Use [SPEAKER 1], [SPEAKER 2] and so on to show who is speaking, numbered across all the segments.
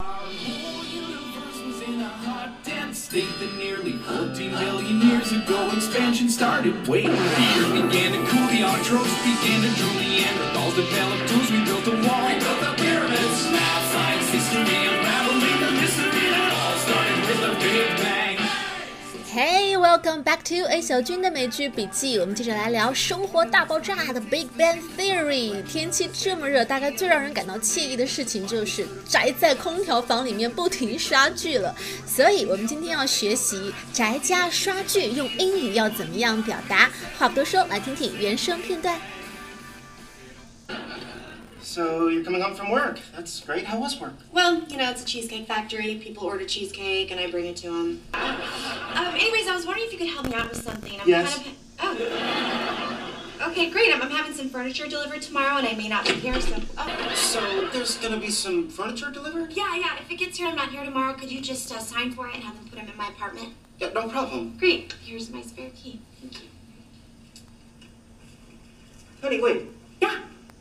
[SPEAKER 1] Our whole universe was in a hot, dense state that nearly 14 billion years ago expansion started. Wait, the earth began to cool, the autotrophs began to drool, Neanderthals developed tools, we built a wall, we built the pyramids, math, science, history, unraveling the mystery that all started with a Big Bang.
[SPEAKER 2] Hey, welcome back to A 小军的美剧笔记。我们接着来聊生活大爆炸的 Big Bang Theory。天气这么热，大概最让人感到惬意的事情就是宅在空调房里面不停刷剧了。所以我们今天要学习宅家刷剧用英语要怎么样表达。话不多说，来听听原声片段。
[SPEAKER 3] So you're coming home from work. That's great. How was work?
[SPEAKER 4] Well, you know, it's a cheesecake factory. People order cheesecake, and I bring it to them. Anyways, I was wondering if you could help me out with something.
[SPEAKER 3] Yes.
[SPEAKER 4] Okay, great. I'm having some furniture delivered tomorrow, and I may not be here, so...
[SPEAKER 3] So there's gonna be some furniture delivered?
[SPEAKER 4] Yeah. If it gets here and I'm not here tomorrow, could you just sign for it and have them put them in my apartment?
[SPEAKER 3] Yeah, no problem.
[SPEAKER 4] Great. Here's my spare key. Thank you.
[SPEAKER 3] Honey, wait.
[SPEAKER 4] Yeah.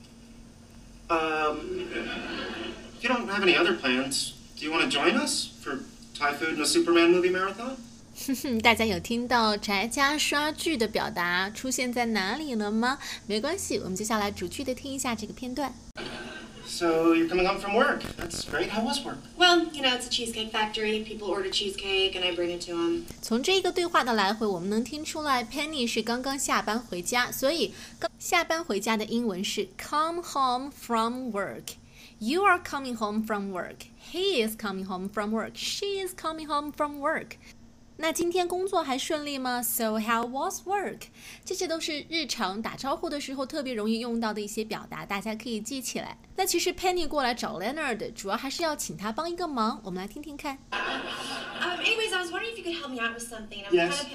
[SPEAKER 3] If you don't have any other plans, do you want to join us for Thai food and a Superman movie marathon?
[SPEAKER 2] 大家有听到宅家刷剧的表达出现在哪里了吗？没关系，我们接下来逐句的听一下这个片段。
[SPEAKER 3] So you're coming home from work. That's great. How was work?
[SPEAKER 4] Well, you know, it's a cheesecake factory. People order cheesecake, and I bring it to them.
[SPEAKER 2] 从这个对话的来回，我们能听出来 Penny 是刚刚下班回家，所以下班回家的英文是 come home from work。You are coming home from work. He is coming home from work. She is coming home from work. 那今天工作还顺利吗？ So how was work? 这些都是日常打招呼的时候特别容易用到的一些表达，大家可以记起来。那其实 Penny 过来找 Leonard 主要还是要请他帮一个忙，我们来听听看。
[SPEAKER 4] Anyways, I was wondering if you could help me out with something.
[SPEAKER 3] Yes.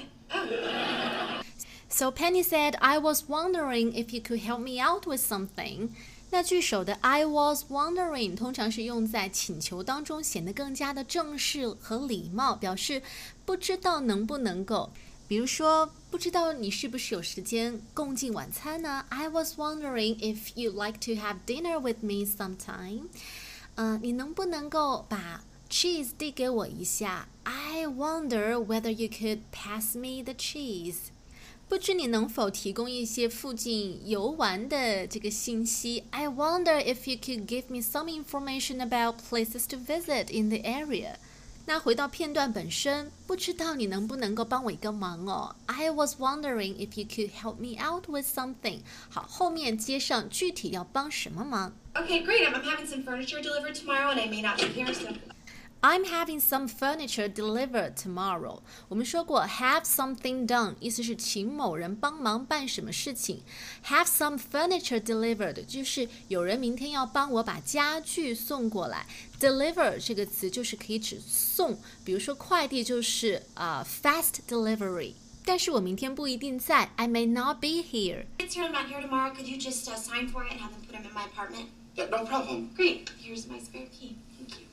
[SPEAKER 2] So Penny said, I was wondering if you could help me out with something. 那句首的 I was wondering 通常是用在请求当中，显得更加的正式和礼貌，表示不知道能不能够。比如说，不知道你是不是有时间共进晚餐呢？ I was wondering if you'd like to have dinner with me sometime. 你能不能够把 cheese 递给我一下？ I wonder whether you could pass me the cheese.不知你能否提供一些附近游玩的这个信息 I wonder if you could give me some information about places to visit in the area. 那回到片段本身，不知道你能不能够帮我一个忙哦 I was wondering if you could help me out with something. 好，后面接上具体要帮什么忙。
[SPEAKER 4] Okay, great. I'm having some furniture delivered tomorrow, and I may not be here, so...
[SPEAKER 2] I'm having some furniture delivered tomorrow. 我们说过 have something done 意思是请某人帮忙办什么事情 have some furniture delivered 就是有人明天要帮我把家具送过来 deliver 这个词就是可以指送，比如说快递就是fast delivery 但是我明天不一定在 I may not be here.
[SPEAKER 4] It's here, I'm not here tomorrow. Could you just sign for it and have them put them in my apartment?
[SPEAKER 3] Yeah, no problem.
[SPEAKER 4] Great. Here's my spare key. Thank you.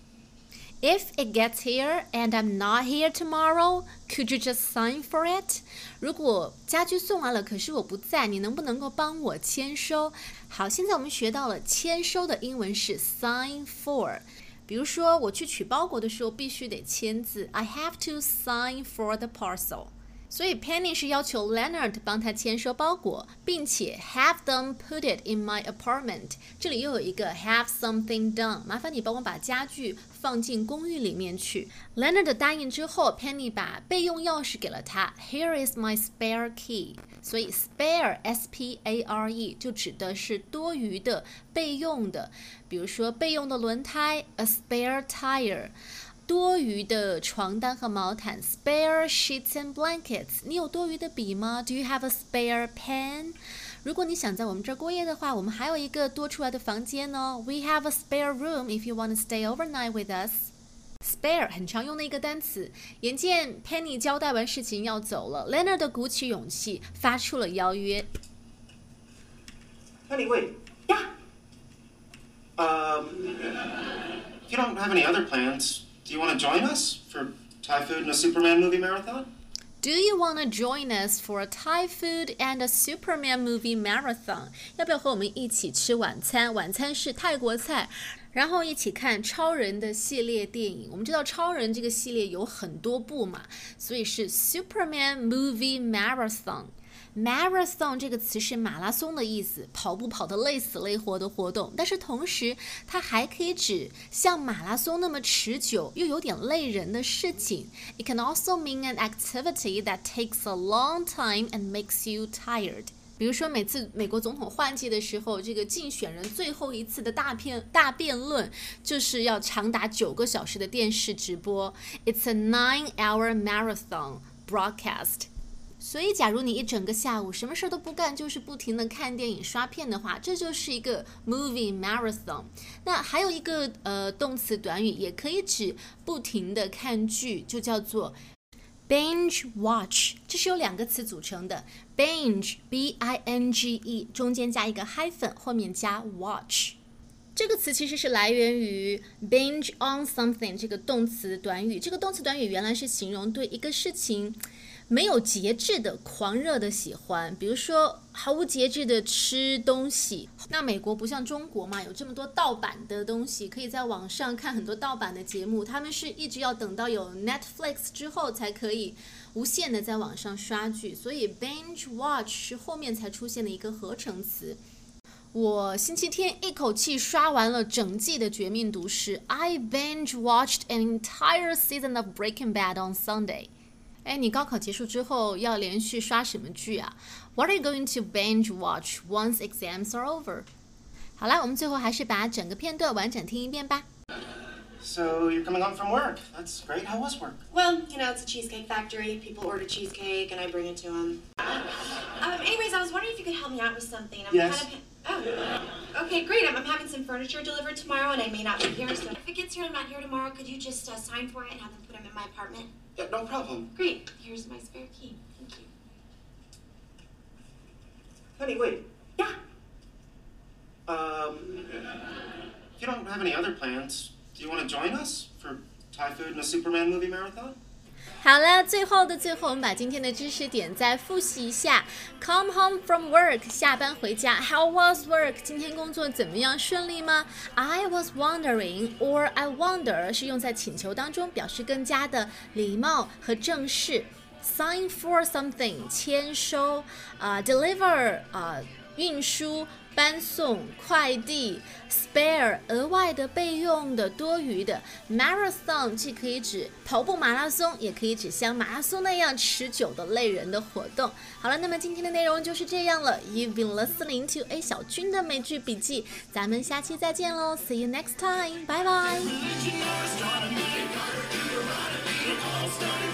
[SPEAKER 2] If it gets here and I'm not here tomorrow, could you just sign for it? 如果家具送完了，可是我不在，你能不能够帮我签收？好，现在我们学到了签收的英文是 sign for。比如说我去取包裹的时候必须得签字 I have to sign for the parcel。所以 Penny 是要求 Leonard 帮他签收包裹，并且 have them put it in my apartment。这里又有一个 have something done， 麻烦你帮我把家具放进公寓里面去。Leonard 答应之后 Penny 把备用钥匙给了他 Here is my spare key。所以 spare S-P-A-R-E 就指的是多余的备用的，比如说备用的轮胎 a spare tire，多余的床单和毛毯 spare sheets and blankets。 你有多余的笔吗？ Do you have a spare pen？ 如果你想在我们这儿过夜的话，我们还有一个多出来的房间哦。 We have a spare room if you want to stay overnight with us。 Spare 很常用的一个单词。眼见 Penny 交代完事情要走了， Leonard 鼓起勇气发出了邀约。
[SPEAKER 3] Honey, wait.
[SPEAKER 4] Yeah.
[SPEAKER 3] If you don't have any other plans, do you want to join us for Thai food and a Superman movie marathon?
[SPEAKER 2] Do you want to join us for a Thai food and a Superman movie marathon? 要不要和我们一起吃晚餐？晚餐是泰国菜，然后一起看超人的系列电影。我们知道超人这个系列有很多部嘛，所以是 Superman movie marathon。Marathon 这个词是马拉松的意思，跑步跑得累死累活的活动，但是同时它还可以指像马拉松那么持久又有点累人的事情。It can also mean an activity that takes a long time and makes you tired。比如说每次美国总统换届的时候，这个竞选人最后一次的大辩论就是要长达9个小时的电视直播。It's a 9-hour marathon broadcast。所以假如你一整个下午什么事都不干，就是不停的看电影刷片的话，这就是一个 movie marathon。那还有一个动词短语也可以指不停的看剧，就叫做binge watch， 这是由2个词组成的 binge B-I-N-G-E 中间加一个 hyphen， 后面加 watch。这个词其实是来源于 binge on something 这个动词短语。这个动词短语原来是形容对一个事情没有节制的狂热的喜欢，比如说毫无节制的吃东西。那美国不像中国嘛，有这么多盗版的东西，可以在网上看很多盗版的节目，他们是一直要等到有 Netflix 之后才可以无限的在网上刷剧，所以 binge watch 是后面才出现的一个合成词。我星期天一口气刷完了整季的《绝命毒师》，I binge watched an entire season of Breaking Bad on Sunday。哎，你高考结束之后要连续刷什么剧啊？ What are you going to binge watch once exams are over? 好啦，我们最后还是把整个片段完整听一遍吧。
[SPEAKER 3] So you're coming home from work. That's great. How was work?
[SPEAKER 4] Well, you know, it's a cheesecake factory. People order cheesecake, and I bring it to them. Anyways, I was wondering if you could help me out with something.
[SPEAKER 3] Yes.
[SPEAKER 4] Okay, great. I'm having some furniture delivered tomorrow, and I may not be here. So if it gets here and I'm not here tomorrow, could you just sign for it and have them put them in my apartment?
[SPEAKER 3] Yeah, no problem.
[SPEAKER 4] Great. Here's my spare key. Thank you.
[SPEAKER 3] Honey, wait.
[SPEAKER 4] Yeah.
[SPEAKER 3] If you don't have any other plans, do you want to join us for Thai food and a Superman movie marathon?
[SPEAKER 2] 好了，最后的最后，我们把今天的知识点再复习一下。Come home from work， 下班回家。How was work？ 今天工作怎么样？顺利吗？ I was wondering or I wonder 是用在请求当中，表示更加的礼貌和正式。Sign for something， 签收。Deliver， 运输。搬送、快递 spare 额外的备用的多余的 marathon 既可以指跑步马拉松，也可以指像马拉松那样持久的累人的活动。好了，那么今天的内容就是这样了。 You've been listening to A 小军的美剧笔记，咱们下期再见喽 See you next time， 拜拜。